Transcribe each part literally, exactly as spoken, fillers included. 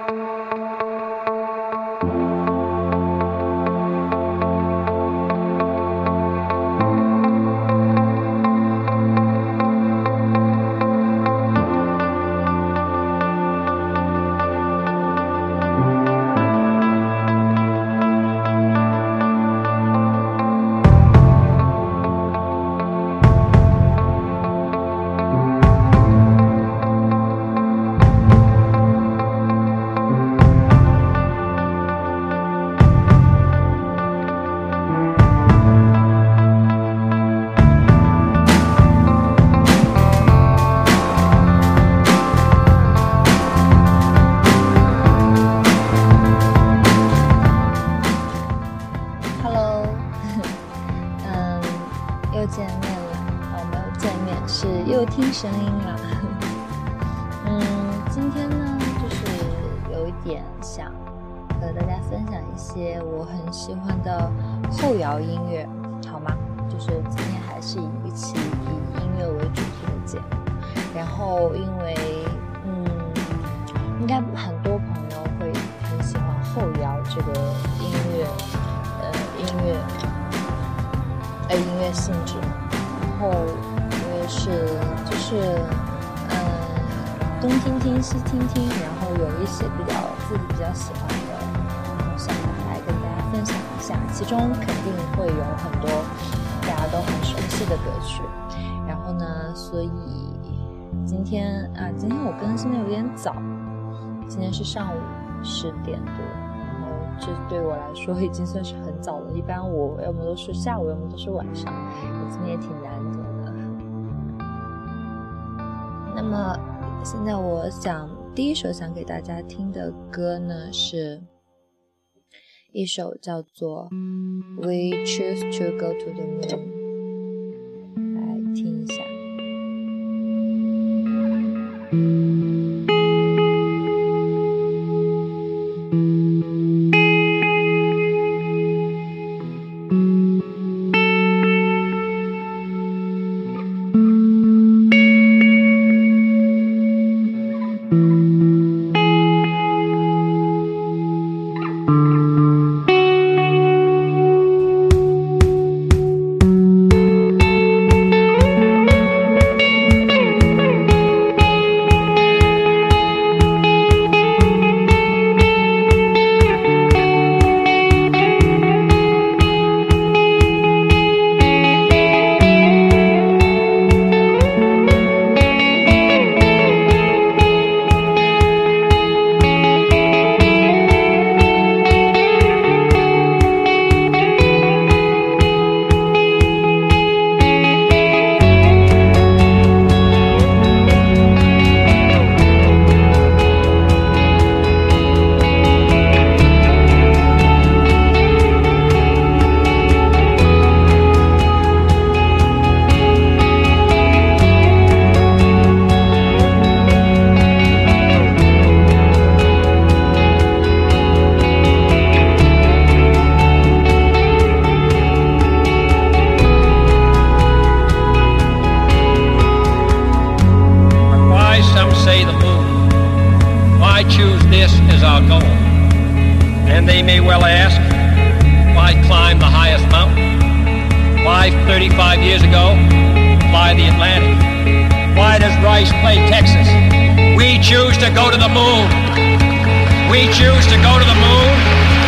听声音啦。嗯，今天呢，就是有一点想和大家分享一些我很喜欢的后摇音乐，好吗？就是今天还是一期以音乐为主题的节目。然后因为嗯，应该很多朋友会很喜欢后摇这个音乐，呃，音乐，呃，音乐性质。然后我也是，就是嗯，东听听西听听，然后有一些比较自己比较喜欢的，然后想来跟大家分享一下。其中肯定会有很多大家都很熟悉的歌曲。然后呢，所以今天啊，今天我更新的有点早，今天是上午十点多，然后这对我来说已经算是很早了。一般我要么都是下午，要么都是晚上，今天也挺难得的。那么现在我想第一首想给大家听的歌呢，是一首叫做 We Choose to Go to the Moon， 来听一下。 And they may well ask, why climb the highest mountain? Why thirty-five years ago fly the Atlantic? Why does Rice play Texas? We choose to go to the moon. We choose to go to the moon.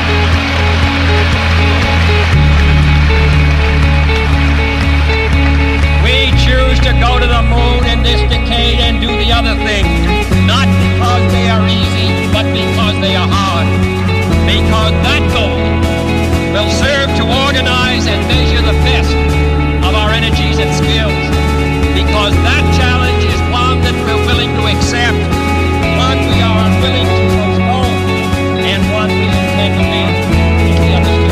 We choose to go to the moon in this decade and do the other things, not because they are easy, but because they are hard. Because that goal will serve to organize and measure the best of our energies and skills. Because that challenge is one that we're willing to accept, one we are unwilling to postpone, and one we intend to make easily understood.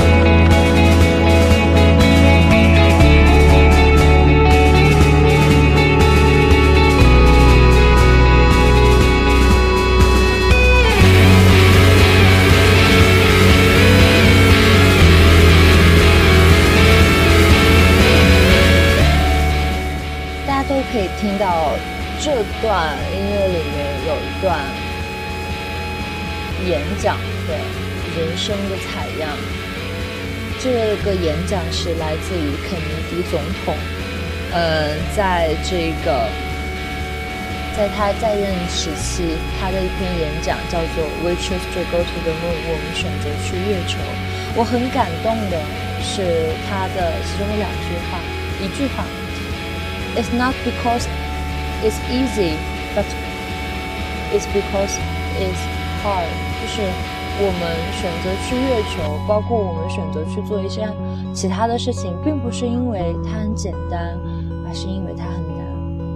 大家都可以听到这段音乐里面有一段演讲，对，人生的采样。这个演讲是来自于肯尼迪总统，呃，在这个在他在任时期，他的一篇演讲叫做 We choose to go to the moon， 我们选择去月球。我很感动的是他的其中的两句话，一句话 It's not because it's easy, but it's because it's hard， 就是我们选择去月球，包括我们选择去做一些其他的事情，并不是因为它很简单，而是因为它很难。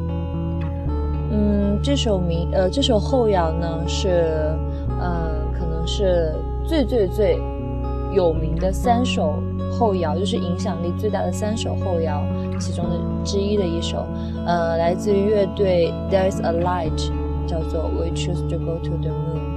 嗯，这首名呃这首后摇呢是呃可能是最最最有名的三首后摇，就是影响力最大的三首后摇其中的之一的一首，呃来自于乐队 There's a Light， 叫做 We choose to go to the moon。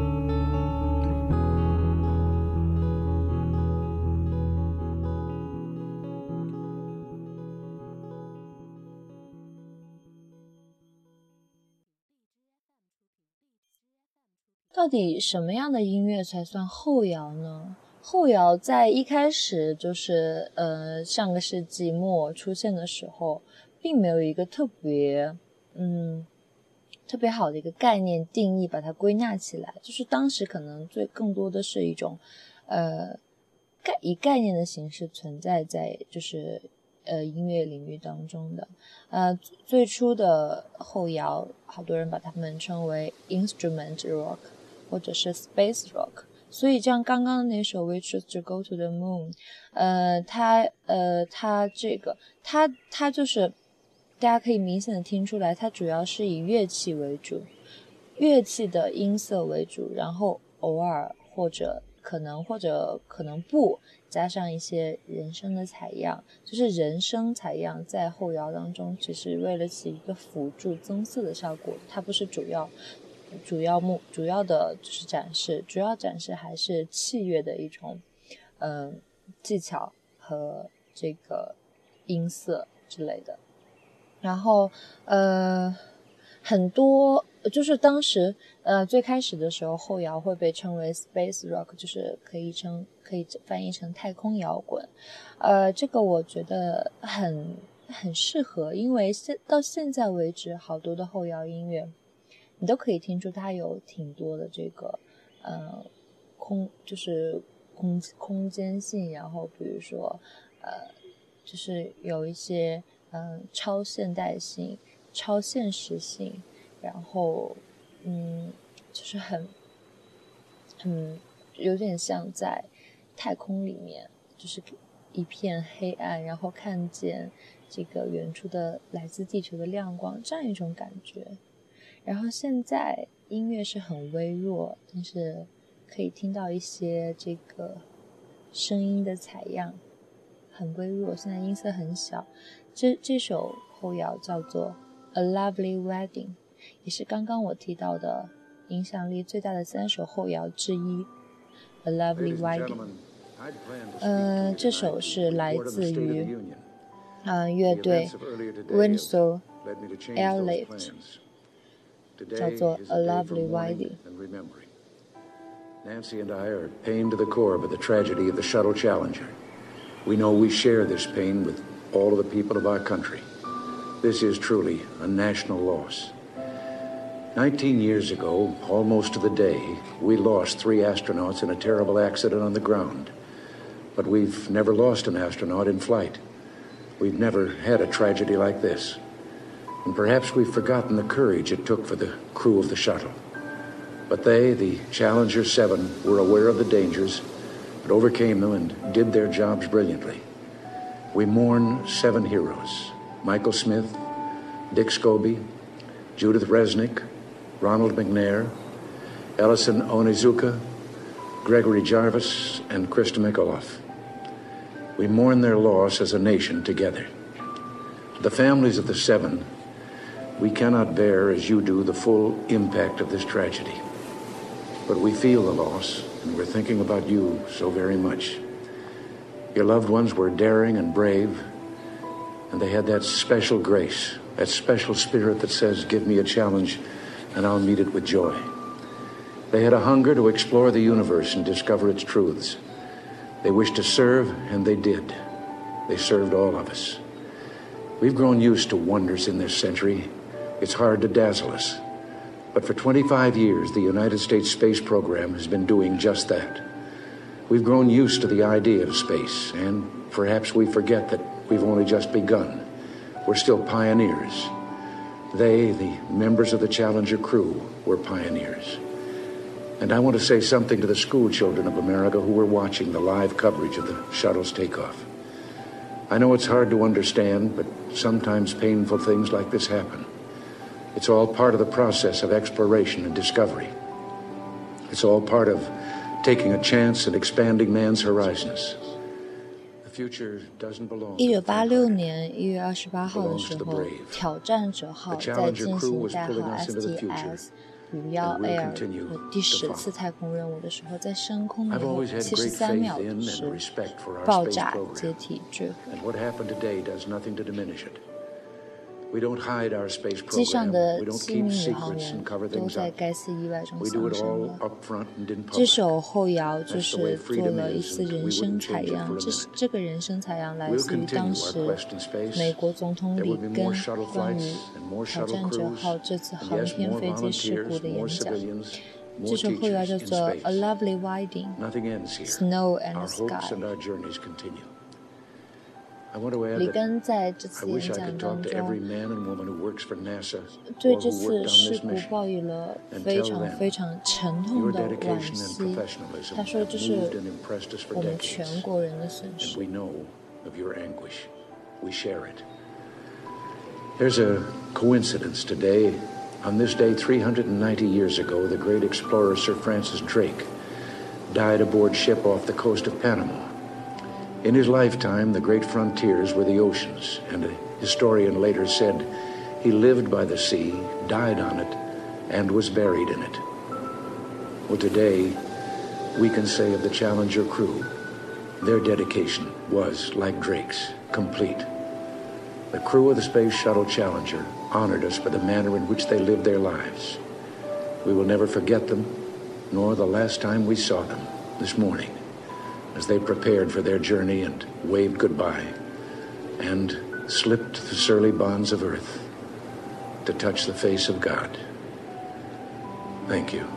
到底什么样的音乐才算后摇呢？后摇在一开始就是呃上个世纪末出现的时候，并没有一个特别嗯特别好的一个概念定义把它归纳起来，就是当时可能最更多的是一种呃概以概念的形式存在在就是呃音乐领域当中的。呃最初的后摇好多人把它们称为 instrument rock或者是 space rock， 所以像刚刚的那首 We choose to go to the moon， 呃，它呃它这个它它就是大家可以明显的听出来，它主要是以乐器为主，乐器的音色为主，然后偶尔或者可能或者可能不加上一些人声的采样，就是人声采样在后摇当中只是为了起一个辅助增色的效果，它不是主要主要目主要的就是展示，主要展示还是器乐的一种嗯、呃、技巧和这个音色之类的。然后呃很多就是当时呃最开始的时候，后摇会被称为 space rock， 就是可以称可以翻译成太空摇滚。呃这个我觉得很很适合，因为现到现在为止好多的后摇音乐你都可以听出它有挺多的这个呃空就是空空间性，然后比如说呃就是有一些嗯、呃、超现代性、超现实性，然后嗯就是很很有点像在太空里面，就是一片黑暗，然后看见这个远处的来自地球的亮光，这样一种感觉。然后现在音乐是很微弱，但是可以听到一些这个声音的采样，很微弱，现在音色很小。这这首后摇叫做 A Lovely Wedding， 也是刚刚我提到的影响力最大的三首后摇之一 A Lovely Wedding。 呃，这首是来自于呃乐队 Windsor Airlift，叫做 A Lovely Wedding。 Nancy and I are pained to the core by the tragedy of the Shuttle Challenger. We know we share this pain with all of the people of our country. This is truly a national loss. Nineteen years ago, almost to the day, we lost three astronauts in a terrible accident on the ground. But we've never lost an astronaut in flight. We've never had a tragedy like this. And perhaps we've forgotten the courage it took for the crew of the shuttle. But they, the Challenger seven, were aware of the dangers, but overcame them and did their jobs brilliantly. We mourn seven heroes: Michael Smith, Dick Scobie, Judith Resnick, Ronald McNair, Ellison Onizuka, Gregory Jarvis, and Krista Mikaloff. We mourn their loss as a nation together. To the families of the seven, we cannot bear, as you do, the full impact of this tragedy. But we feel the loss, and we're thinking about you so very much. Your loved ones were daring and brave, and they had that special grace, that special spirit that says, give me a challenge, and I'll meet it with joy. They had a hunger to explore the universe and discover its truths. They wished to serve, and they did. They served all of us. We've grown used to wonders in this century. It's hard to dazzle us. But for twenty-five years, the United States space program has been doing just that. We've grown used to the idea of space, and perhaps we forget that we've only just begun. We're still pioneers. They, the members of the Challenger crew, were pioneers. And I want to say something to the school children of America who were watching the live coverage of the shuttle's takeoff. I know it's hard to understand, but sometimes painful things like this happen. It's all part of the process of exploration and discovery. It's all part of taking a chance and expanding man's horizons. The future doesn't belong. 一九八六年一月二十八号的时候，挑战者号在进行代号 S T S 五一 Air 的第十次太空任务的时候，在升空以后七十三秒时爆炸解体坠毁。机上的七名宇航员都在该次意外中丧生了。这首后摇就是做了一次人声采样，这是这个人声采样来自于当时美国总统里根关于挑战者号这次航天飞机事故的演讲。这首后摇叫做 A Lovely Wedding, Snow and Sky。里根在这次演讲当中对这次事故抱以了非常非常沉痛的惋惜。他说这是我们全国人的损失。 There's a coincidence today. On this day, three hundred ninety years ago, the great explorer Sir Francis Drake died aboard ship off the coast of Panama. In his lifetime, the great frontiers were the oceans, and a historian later said he lived by the sea, died on it, and was buried in it. Well, today, we can say of the Challenger crew, their dedication was, like Drake's, complete. The crew of the Space Shuttle Challenger honored us by the manner in which they lived their lives. We will never forget them, nor the last time we saw them, this morning, as they prepared for their journey and waved goodbye and slipped the surly bonds of earth to touch the face of God. Thank you.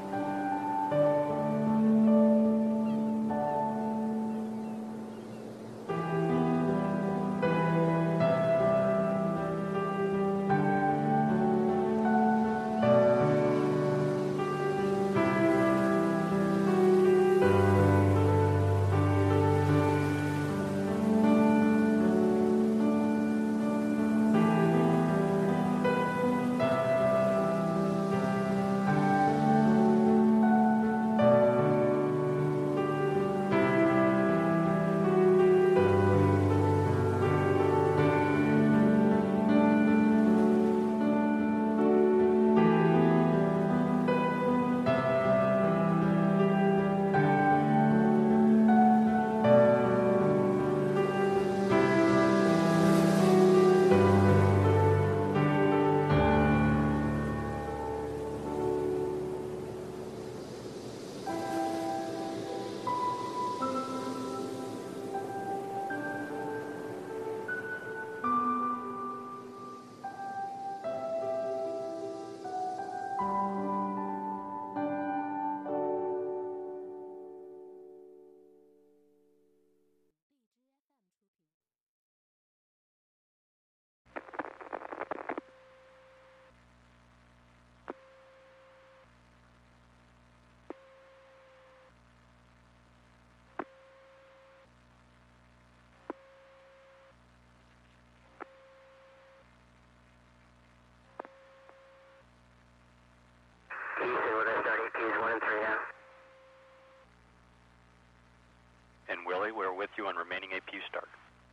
And Willie, we're with you on remaining A P U start.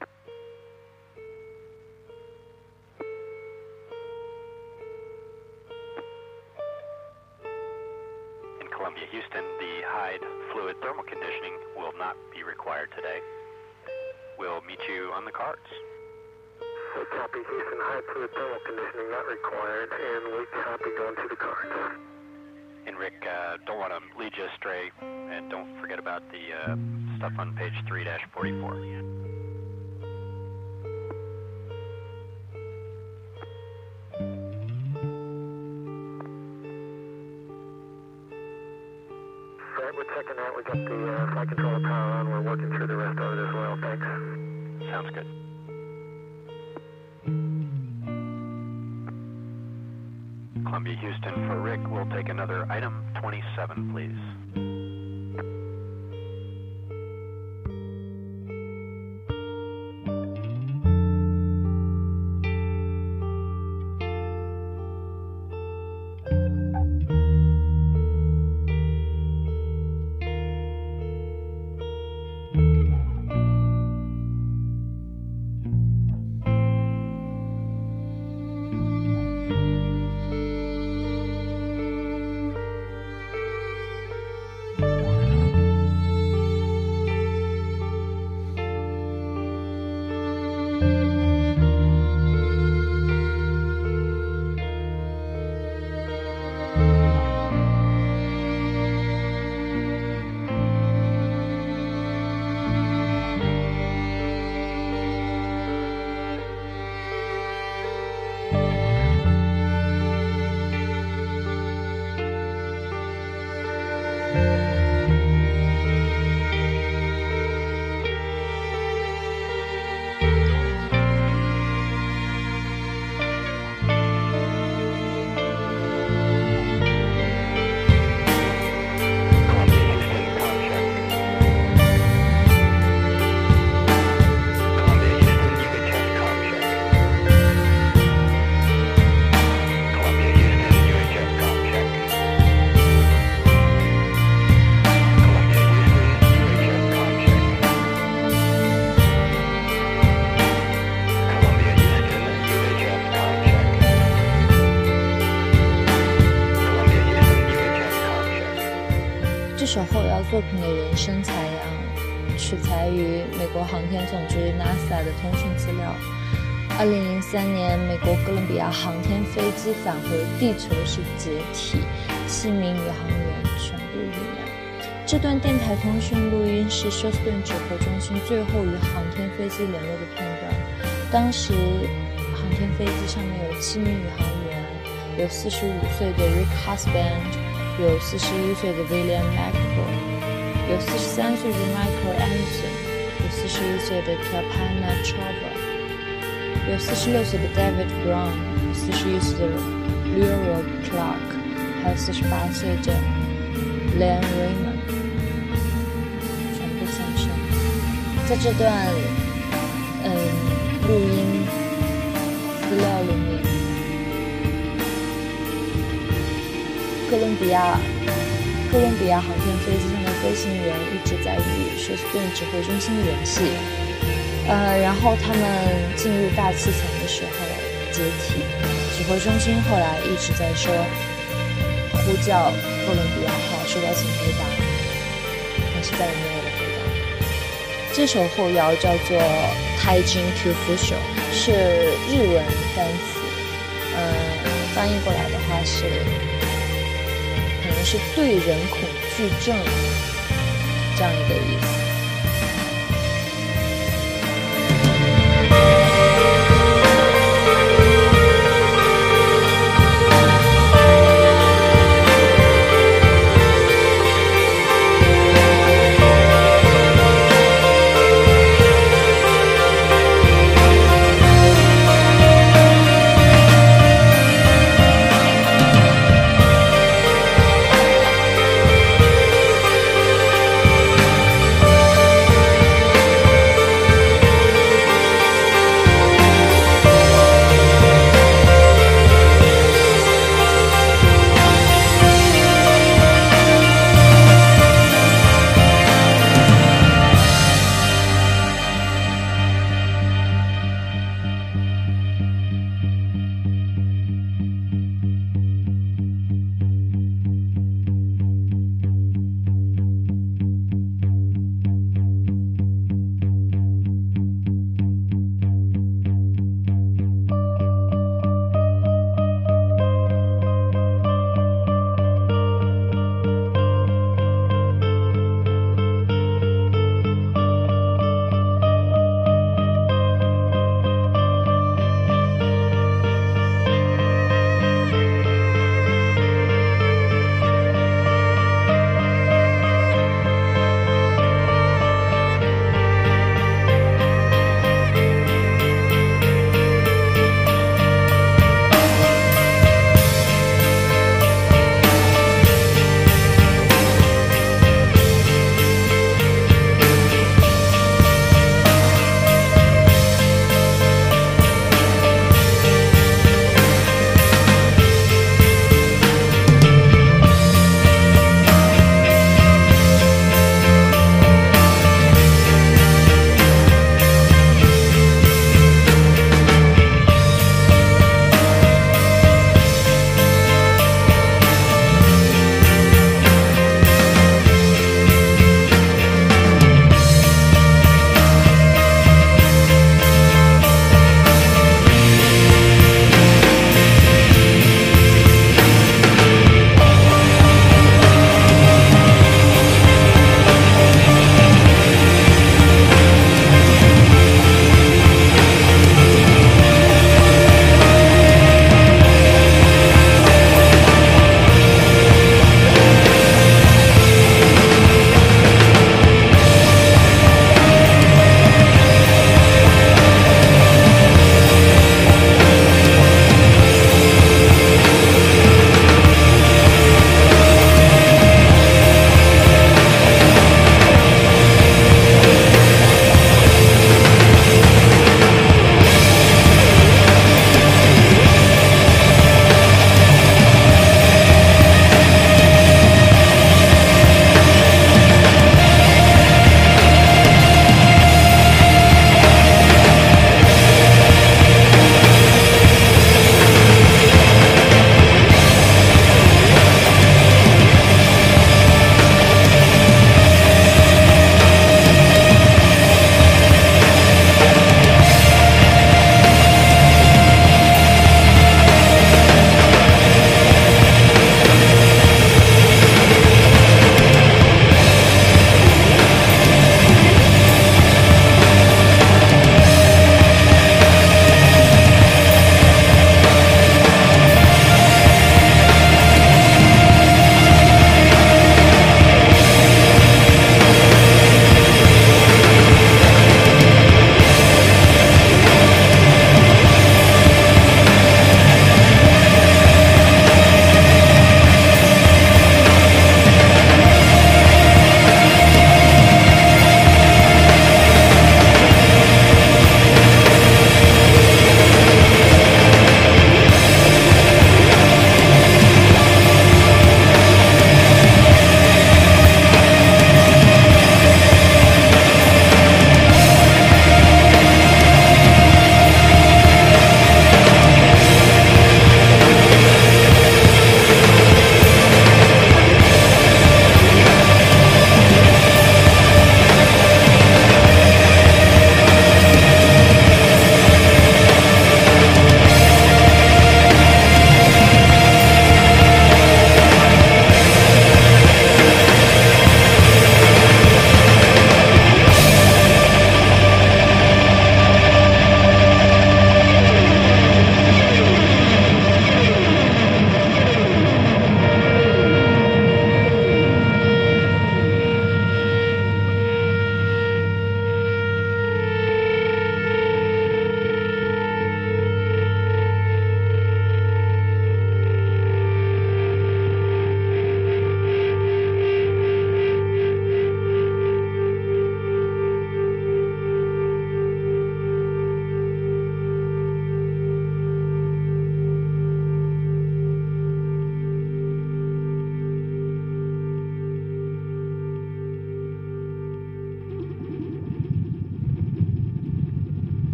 In Columbia, Houston, the Hyde fluid thermal conditioning will not be required today. We'll meet you on the cards. We copy Houston, Hyde fluid thermal conditioning not required, and we copy going to the cards. And Rick, uh, uh, don't want to lead you astray, and don't forget about the uh, stuff on page three dash forty-four. Right, we're checking out. We got the uh, flight controller power on. We're working through the rest of it as well. Thanks. Sounds good. Columbia Houston, for Rick, we'll take another item twenty-seven, please. 这首后摇作品的人声采样取材于美国航天总局 NASA 的通讯资料。二零零三年，美国哥伦比亚航天飞机返回地球时解体，七名宇航员全部遇难。这段电台通讯录音是休斯顿指挥中心最后与航天飞机联络的片段。当时航天飞机上面有七名宇航员，有四十五岁的 Rick Husband， 有四十一岁的 William McCall， 有四十三岁的 Michael Anderson， 有四十一岁的 Kalpana Chawla， 有四十六岁的 David Brown， 有四十一岁的 Leroy Clark， 还有四十八岁的 Len Raymond， 全部丧生。在这段嗯录音资料里面，哥伦比亚哥伦比亚航天飞机上的飞行员一直在与休斯顿指挥中心联系，呃，然后他们进入大气层的时候解体，指挥中心后来一直在说呼叫哥伦比亚号，说要请回答，但是再也没有了回答。这首后摇叫做 Taijin Kyufusho， 是日文单词，呃，翻译过来的话是可能是对人恐惧症这样一个意思。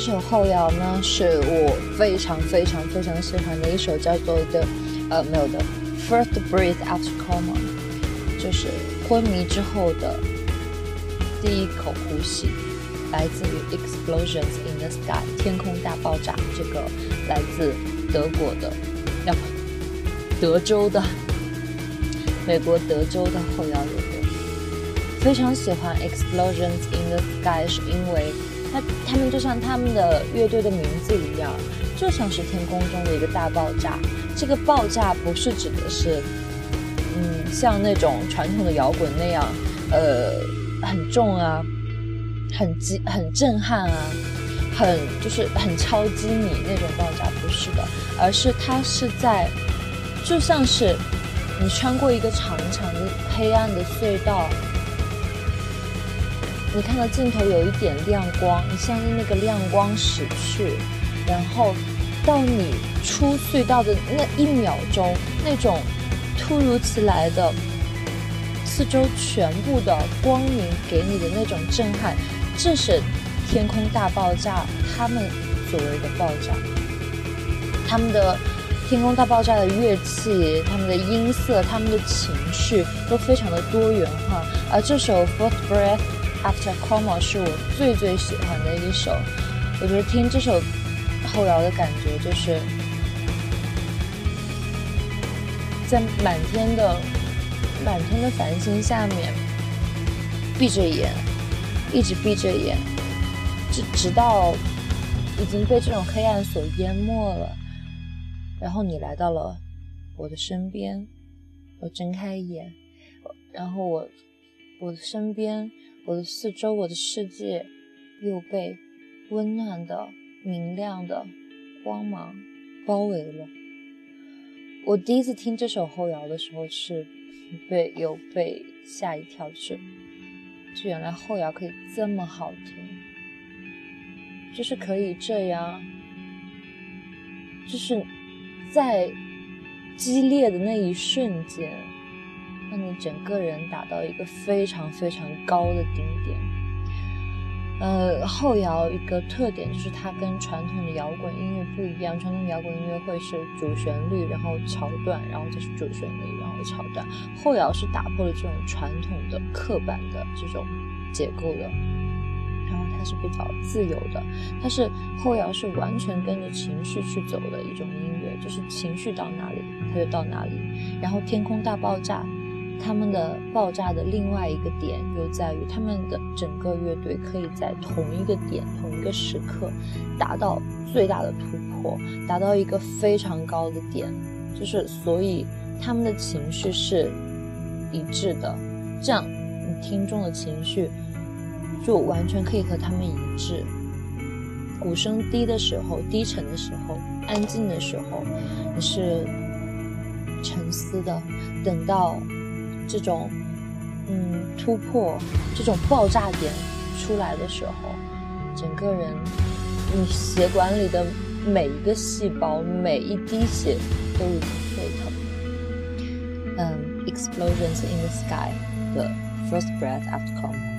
首后摇呢是我非常非常非常喜欢的一首，叫做的呃没有的 First Breath After Coma， 就是昏迷之后的第一口呼吸，来自于 Explosions in the Sky 天空大爆炸，这个来自德国的要不德州的美国德州的后摇乐队。非常喜欢 Explosions in the Sky 是因为它他们就像他们的乐队的名字一样，就像是天空中的一个大爆炸。这个爆炸不是指的是嗯像那种传统的摇滚那样呃很重啊，很激很震撼啊，很就是很超击你那种爆炸，不是的，而是它是在就像是你穿过一个长长的黑暗的隧道，你看到尽头有一点亮光，你向着那个亮光驶去，然后到你出隧道的那一秒钟，那种突如其来的四周全部的光明给你的那种震撼，这是天空大爆炸他们所谓的爆炸。他们的天空大爆炸的乐器，他们的音色，他们的情绪都非常的多元化，而这首 First Breath After Coma 是我最最喜欢的一首。我觉得听这首后摇的感觉就是在满天的满天的繁星下面闭着眼，一直闭着眼，直直到已经被这种黑暗所淹没了，然后你来到了我的身边，我睁开眼，然后我我的身边，我的四周，我的世界又被温暖的明亮的光芒包围了。我第一次听这首后摇的时候是被有被吓一跳，就是就原来后摇可以这么好听，就是可以这样，就是在激烈的那一瞬间让你整个人达到一个非常非常高的顶点。呃，后摇一个特点就是它跟传统的摇滚音乐不一样，传统摇滚音乐会是主旋律，然后桥段，然后就是主旋律，然后桥段。后摇是打破了这种传统的刻板的这种结构的，然后它是比较自由的，它是后摇是完全跟着情绪去走的一种音乐，就是情绪到哪里它就到哪里。然后天空大爆炸他们的爆炸的另外一个点又在于他们的整个乐队可以在同一个点同一个时刻达到最大的突破，达到一个非常高的点，就是所以他们的情绪是一致的，这样你听众的情绪就完全可以和他们一致。鼓声低的时候，低沉的时候，安静的时候，你是沉思的，等到这种嗯突破，这种爆炸点出来的时候，整个人你血管里的每一个细胞，每一滴血都已经沸腾。嗯 Explosions in the Sky 的 First Breath After Coma。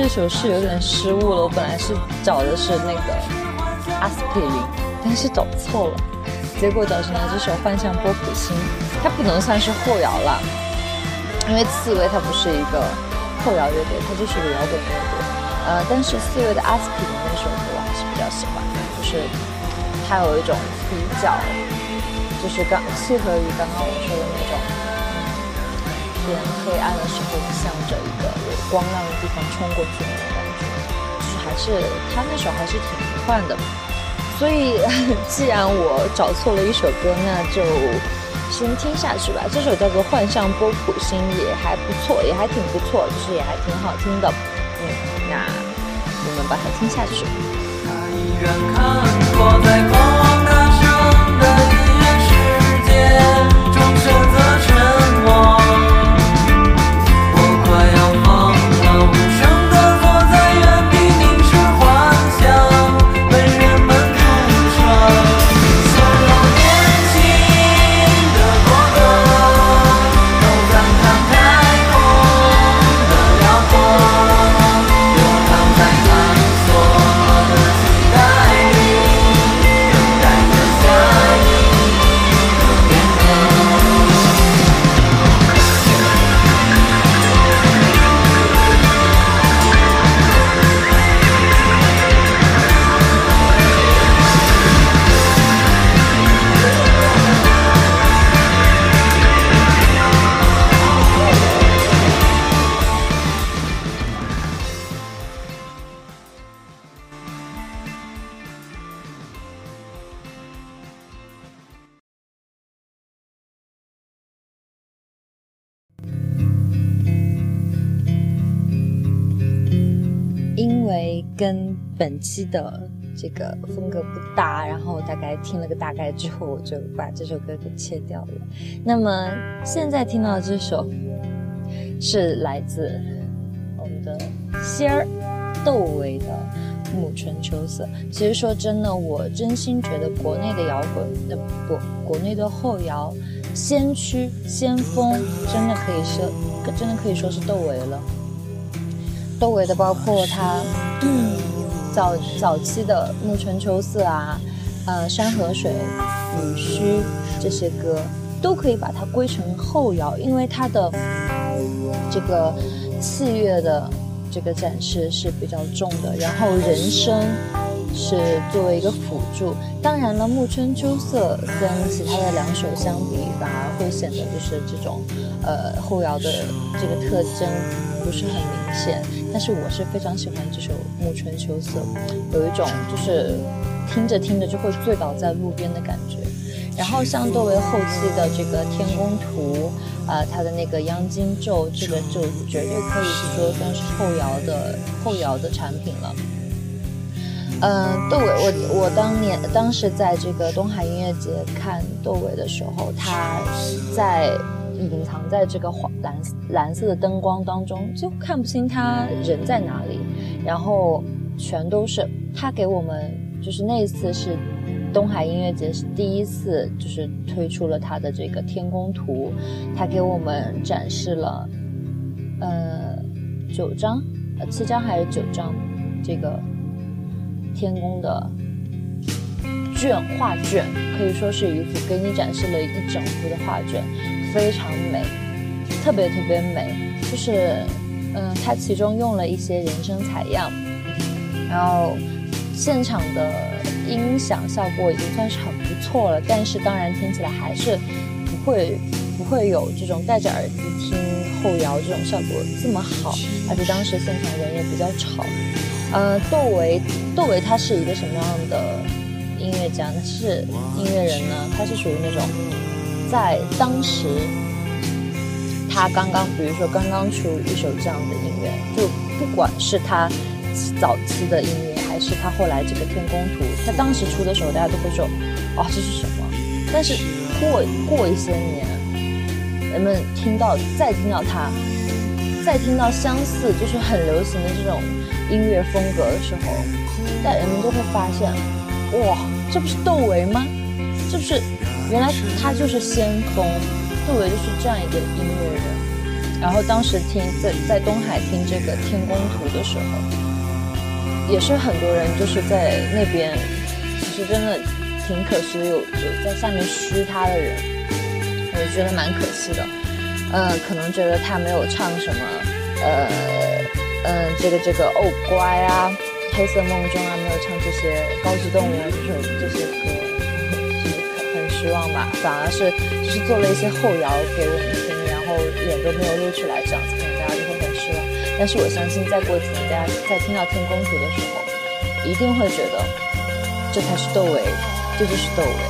这首是有点失误了，我本来是找的是那个阿司匹林，但是找错了，结果找成了这首幻象波普星。它不能算是后摇了，因为刺猬它不是一个后摇乐队，它就是个摇滚乐队。呃，但是刺猬的阿司匹林那首歌我还是比较喜欢的，就是它有一种比较，就是刚契合于刚刚我说的那种。天黑暗的时候，向着一个有光亮的地方冲过去的那种感觉，就是还是他那首还是挺迷幻的。所以既然我找错了一首歌，那就先听下去吧。这首叫做《幻象波普星》，也还不错，也还挺不错，就是也还挺好听的。嗯，那我们把它听下去。 他依然看过在狂妄大声的音乐世界中选择沉默。 跟本期的这个风格不搭，然后大概听了个大概之后，我就把这首歌给切掉了。那么现在听到的这首是来自我们的仙儿窦唯的《暮春秋色》。其实说真的，我真心觉得国内的摇滚，呃不，国内的后摇先驱先锋，真的可以说，真的可以说是窦唯了。窦唯的包括他嗯早早期的《暮春秋色》啊，呃山河水、雨虚这些歌都可以把它归成后摇，因为它的这个器乐的这个展示是比较重的，然后人声是作为一个辅助。当然了，《暮春秋色》跟其他的两首相比，反而会显得就是这种呃后摇的这个特征不是很明显。但是我是非常喜欢这首《暮春秋色》，有一种就是听着听着就会醉倒在路边的感觉。然后像窦唯后期的这个《天宫图》，呃，他的那个《央金咒》，这个就绝对可以说算是后摇的后摇的产品了。呃，窦唯，我我当年当时在这个东海音乐节看窦唯的时候，他在隐藏在这个黄蓝蓝色的灯光当中，就看不清他人在哪里，然后全都是他给我们，就是那一次是东海音乐节是第一次就是推出了他的这个天宫图，他给我们展示了呃九张呃七张还是九张这个天宫的卷画卷，可以说是一幅给你展示了一整幅的画卷，非常美，特别特别美。就是嗯、呃，它其中用了一些人声采样，然后现场的音响效果已经算是很不错了，但是当然听起来还是不会不会有这种戴着耳机听后摇这种效果这么好，而且当时现场人也比较吵。呃，窦唯窦唯他是一个什么样的音乐家呢？是音乐人呢？他是属于那种在当时他刚刚比如说刚刚出一首这样的音乐，就不管是他早期的音乐还是他后来这个天宫图，他当时出的时候大家都会说哦这是什么，但是过过一些年人们听到再听到他再听到相似就是很流行的这种音乐风格的时候，但人们就会发现哇这不是窦唯吗？这不是原来他就是先锋，窦唯就是这样一个音乐人。 然后当时听在在东海听这个《天宫图》的时候，也是很多人就是在那边，其实真的挺可惜的，有有在下面嘘他的人，我觉得蛮可惜的。呃，可能觉得他没有唱什么，呃，嗯、呃，这个这个哦乖啊，黑色梦中啊，没有唱这些高级动物啊，这首这些歌，就是很失望吧。反而是就是做了一些后摇给我们听，然后脸都没有露出来，这样子可能大家就会很失望。但是我相信，再过几年，大家在听到《天宫图》的时候，一定会觉得这才是窦唯，这就是窦唯。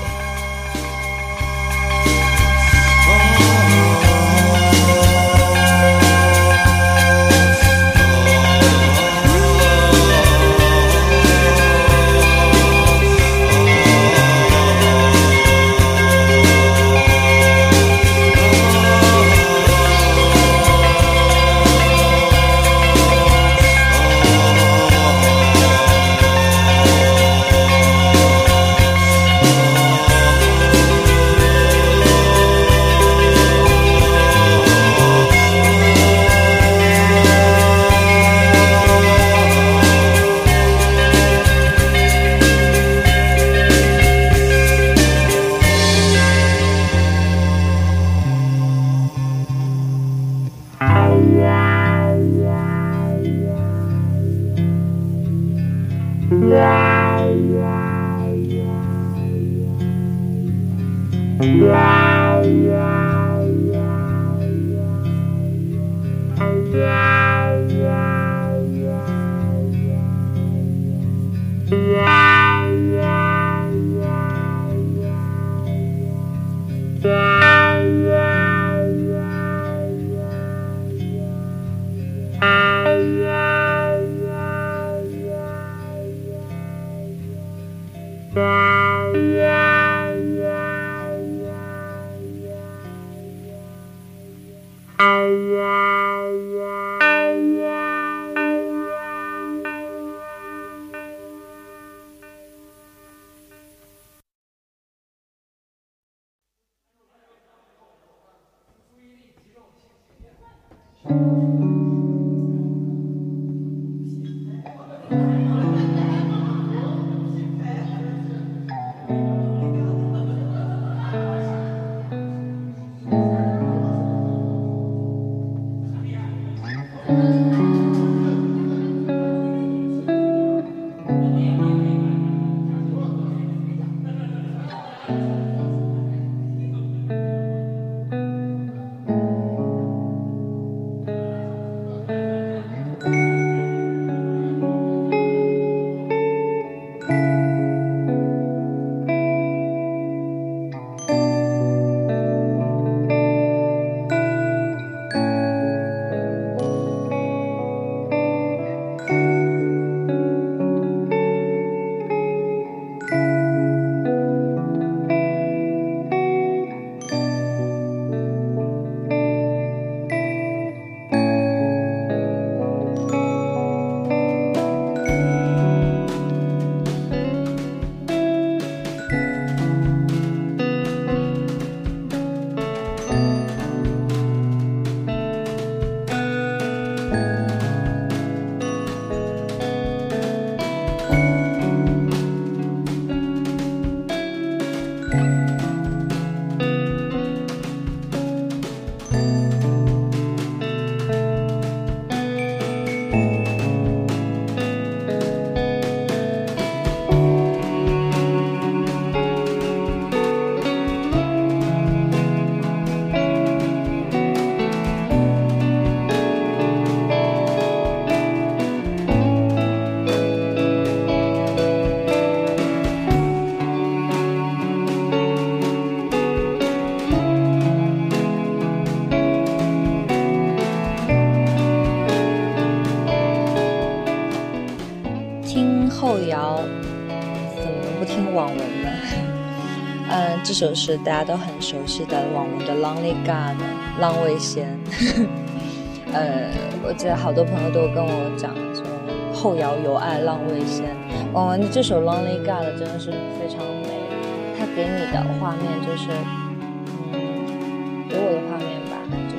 后摇怎么能不听网文呢？嗯，这首是大家都很熟悉的网文的 Lonely God 浪味仙。呃，我记得好多朋友都跟我讲说后摇有爱浪味仙。网文的这首 Lonely God 真的是非常美，它给你的画面就是，嗯，给我的画面吧，就是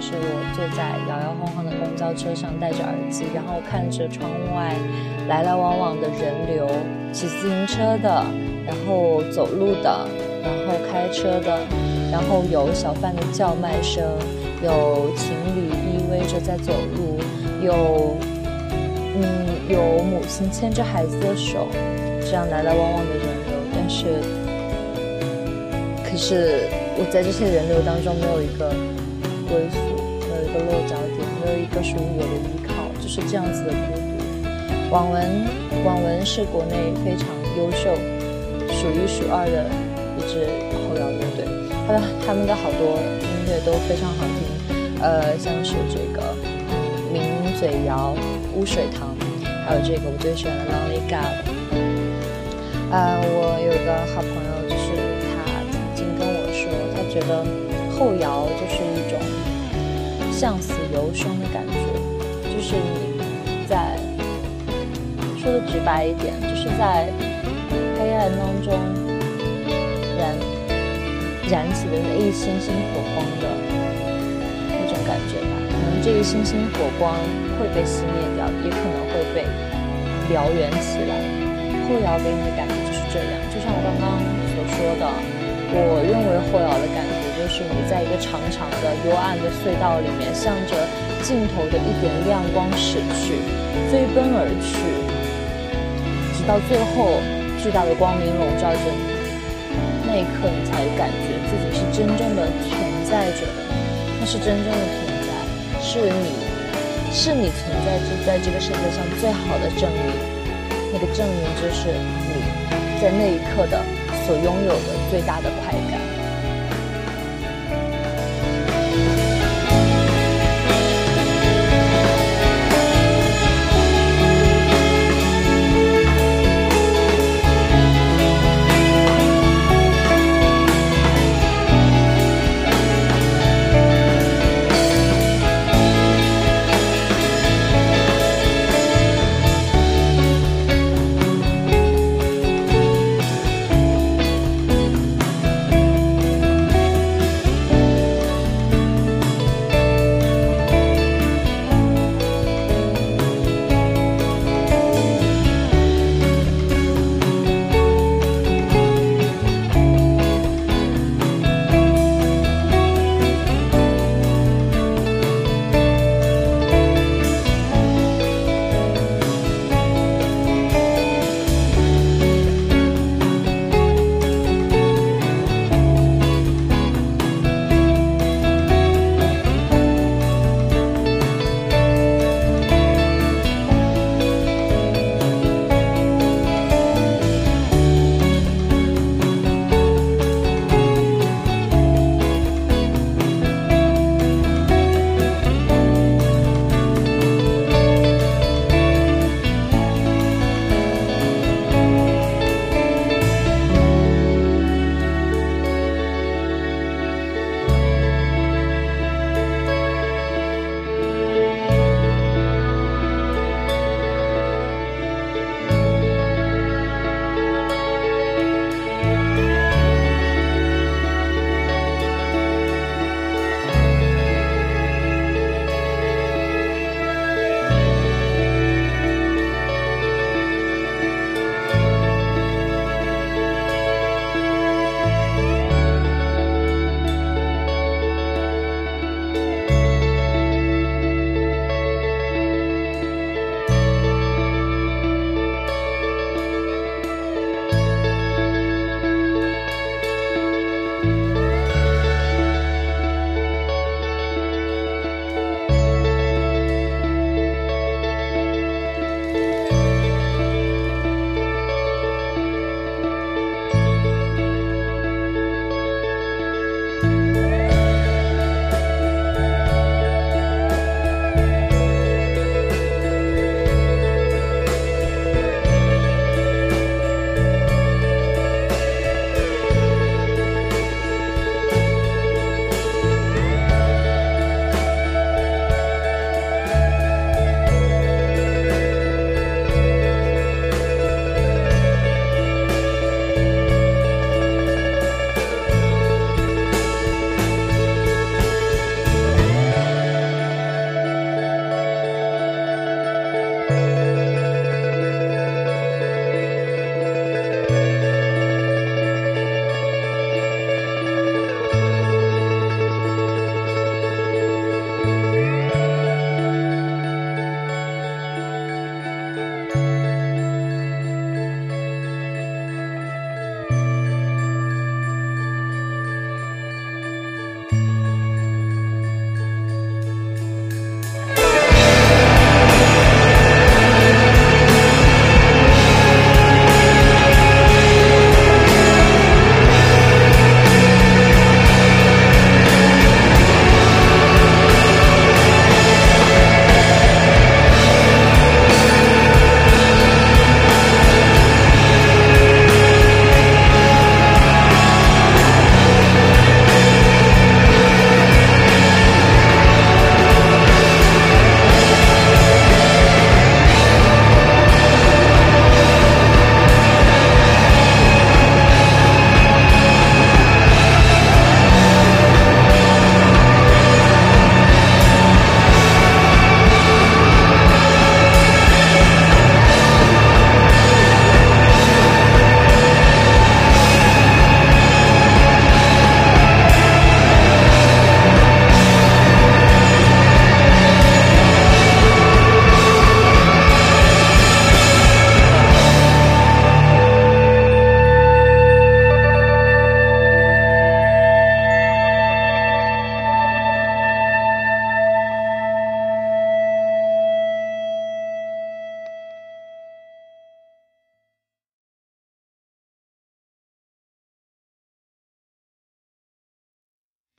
是我坐在摇摇晃晃的公交车上，戴着耳机，然后看着窗外来来往往的人流，骑自行车的，然后走路的，然后开车的，然后有小贩的叫卖声，有情侣依偎着在走路，有嗯有母亲牵着孩子的手，这样来来往往的人流。但是可是我在这些人流当中没有一个归宿，没有一个落脚点，没有一个属于我的依靠，就是这样子的孤独。网文网文是国内非常优秀数一数二的一支后摇乐队，他的他们的好多音乐都非常好听，呃，像是这个抿嘴谣、污水塘，还有这个我最喜欢的 Lonely God。呃，我有一个好朋友，就是他曾经跟我说，他觉得后摇就是一种向死由生的感觉，就是你在说的直白一点，就是在黑暗当中燃燃起的那一星星火光的那种感觉吧。可能这一星星火光会被熄灭掉，也可能会被燎原起来。后摇给你的感觉就是这样，就像我刚刚所说的，我认为后摇的感觉就是你在一个长长的幽暗的隧道里面，向着尽头的一点亮光驶去，飞奔而去，直到最后巨大的光明笼罩着你，那一刻你才感觉自己是真正的存在着的，那是真正的存在，是你是你存在着在这个世界上最好的证明。那个证明就是你在那一刻的所拥有的最大的快感。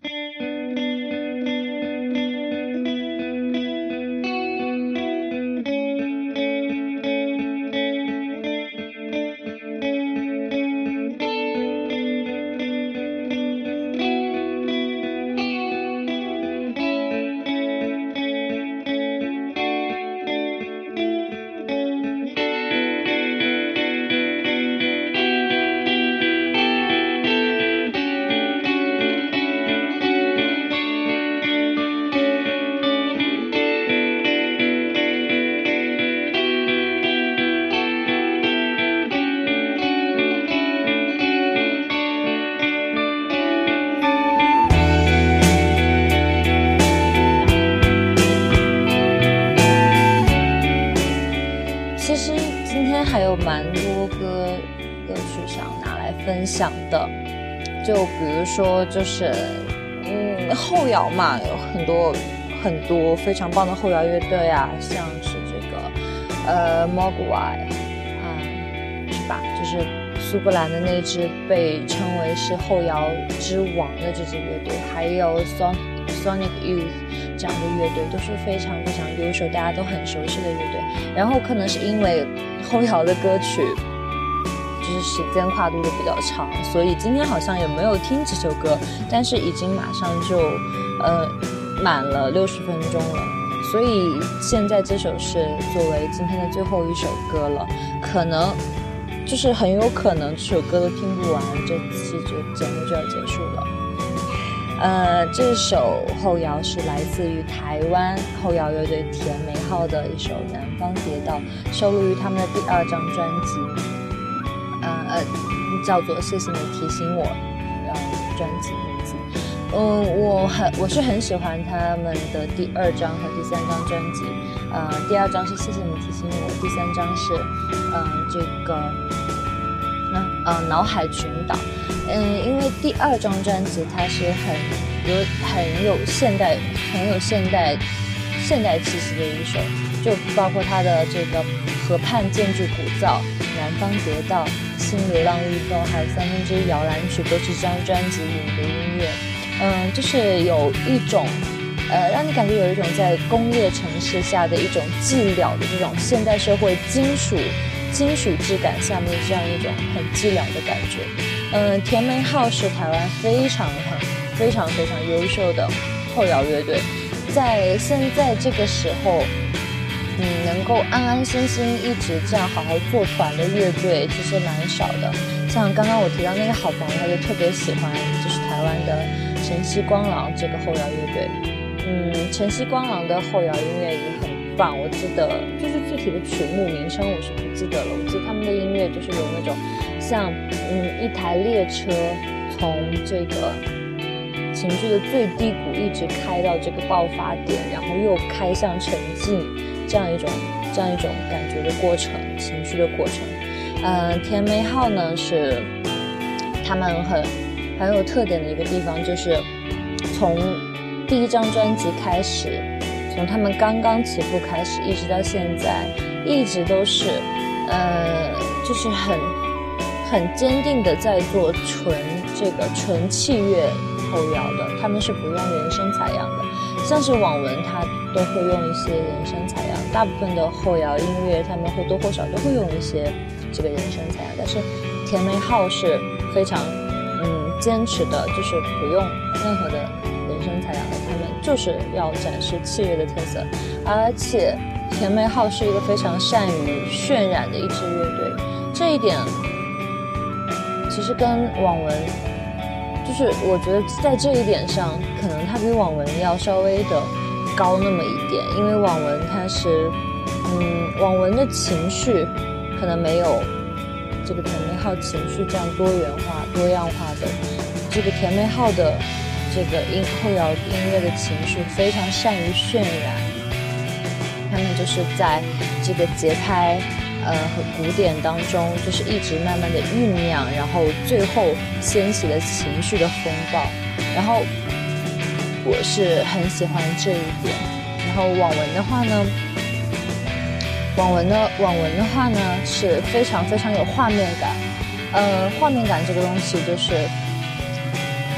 还有蛮多歌歌曲想拿来分享的，就比如说就是嗯后摇嘛，有很多很多非常棒的后摇乐队啊，像是这个呃 Mogwai 啊、嗯，是吧？就是苏格兰的那支被称为是后摇之王的这支乐队，还有 Sonic Sonic Youth 这样的乐队都是非常非常优秀，大家都很熟悉的乐队。然后可能是因为后摇的歌曲就是时间跨度都比较长，所以今天好像也没有听这首歌，但是已经马上就呃满了六十分钟了，所以现在这首是作为今天的最后一首歌了，可能就是很有可能这首歌都听不完，这期就节目就要结束了。呃，这首后摇是来自于台湾后摇乐队甜梅号的一首《南方蝶道》，收录于他们的第二张专辑，呃呃，叫做《谢谢你提醒我》，呃，专辑名字。嗯，我很我是很喜欢他们的第二张和第三张专辑。呃，第二张是《谢谢你提醒我》，第三张是嗯、呃、这个那呃脑海群岛。嗯，因为第二张专辑它是很有很有现代很有现代现代气息的一首，就包括它的这个河畔建筑古造、南方蝶道、新流浪预报，还有三分之一摇篮曲，都是这张专辑里的音乐。嗯，就是有一种呃，让你感觉有一种在工业城市下的一种寂寥的这种现代社会金属金属质感下面这样一种很寂寥的感觉。嗯，甜梅号是台湾非常很非常非常优秀的后摇乐队，在现在这个时候，嗯，能够安安心心一直这样好好做团的乐队其实蛮少的。像刚刚我提到那个好朋友，他就特别喜欢就是台湾的晨曦光廊这个后摇乐队。嗯，晨曦光廊的后摇音乐也很棒，我记得就是具体的曲目名称我是不记得了，我记得他们的音乐就是有那种像嗯一台列车从这个情绪的最低谷一直开到这个爆发点，然后又开向沉静，这样一种这样一种感觉的过程，情绪的过程。嗯，甜梅号呢是他们很很有特点的一个地方，就是从第一张专辑开始，从他们刚刚起步开始，一直到现在，一直都是呃，就是很很坚定的在做纯这个纯器乐后摇的，他们是不用人声采样的，像是网文它都会用一些人声采样，大部分的后摇音乐他们或多或少都会用一些这个人声采样，但是甜梅号是非常嗯坚持的，就是不用任何的人声采样的，他们就是要展示器乐的特色，而且甜梅号是一个非常善于渲染的一支乐队，这一点其实跟网文就是我觉得在这一点上可能它比网文要稍微的高那么一点，因为网文它是嗯网文的情绪可能没有这个甜梅号情绪这样多元化多样化的，这个甜梅号的这个音后摇音乐的情绪非常善于渲染，他们就是在这个节拍呃和鼓点当中就是一直慢慢的酝酿，然后最后掀起了情绪的风暴，然后我是很喜欢这一点。然后网文的话呢网文的网文的话呢是非常非常有画面感，呃画面感这个东西就是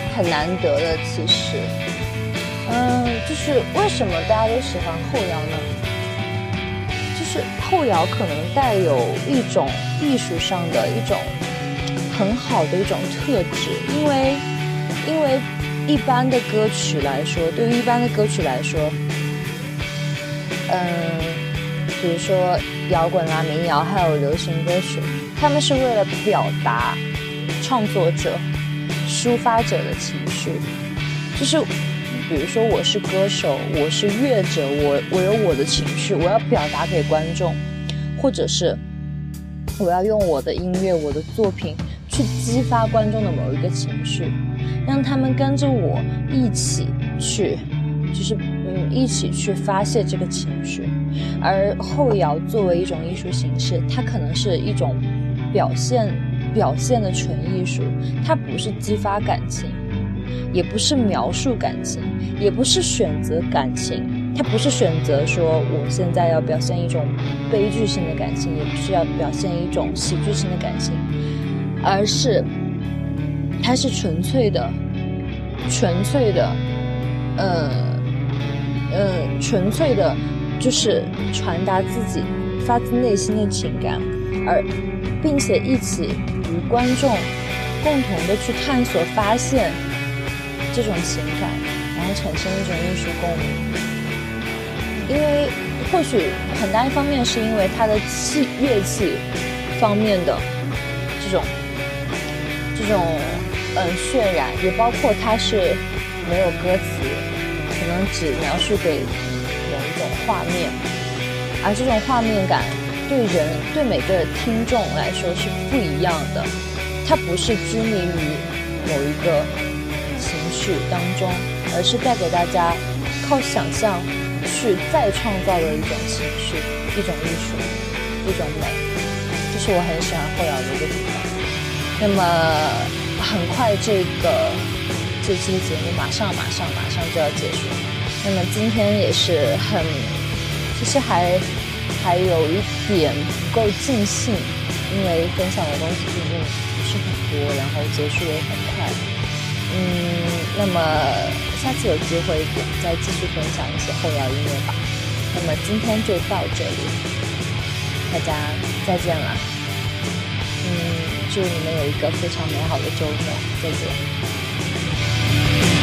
很难得的。其实，嗯，就是为什么大家都喜欢后摇呢？就是后摇可能带有一种艺术上的一种很好的一种特质，因为因为一般的歌曲来说，对于一般的歌曲来说，嗯，比如说摇滚啦、民谣还有流行歌曲，他们是为了表达创作者、抒发者的情绪，就是比如说我是歌手，我是乐者，我我有我的情绪，我要表达给观众，或者是我要用我的音乐、我的作品去激发观众的某一个情绪，让他们跟着我一起去，就是嗯一起去发泄这个情绪。而后摇作为一种艺术形式，它可能是一种表现表现的纯艺术，它不是激发感情，也不是描述感情，也不是选择感情，它不是选择说我现在要表现一种悲剧性的感情，也不是要表现一种喜剧性的感情，而是它是纯粹的纯粹的呃呃纯粹的就是传达自己发自内心的情感，而并且一起与观众共同的去探索发现这种情感，然后产生一种艺术共鸣。因为或许很大一方面是因为它的器乐器方面的这种这种嗯渲染，也包括它是没有歌词，可能只描述给某一种画面，而这种画面感对人对每个听众来说是不一样的，它不是拘泥于某一个情绪当中，而是带给大家靠想象去再创造的一种情绪，一种艺术，一种美，这是我很喜欢后摇的一个地方。那么很快这个这期的节目马上马上马上就要结束，那么今天也是很其实还还有一点不够尽兴，因为分享的东西毕竟不是很多，然后结束也很快。嗯，那么下次有机会再继续分享一些后摇音乐吧。那么今天就到这里，大家再见了。嗯，祝你们有一个非常美好的周末，再见。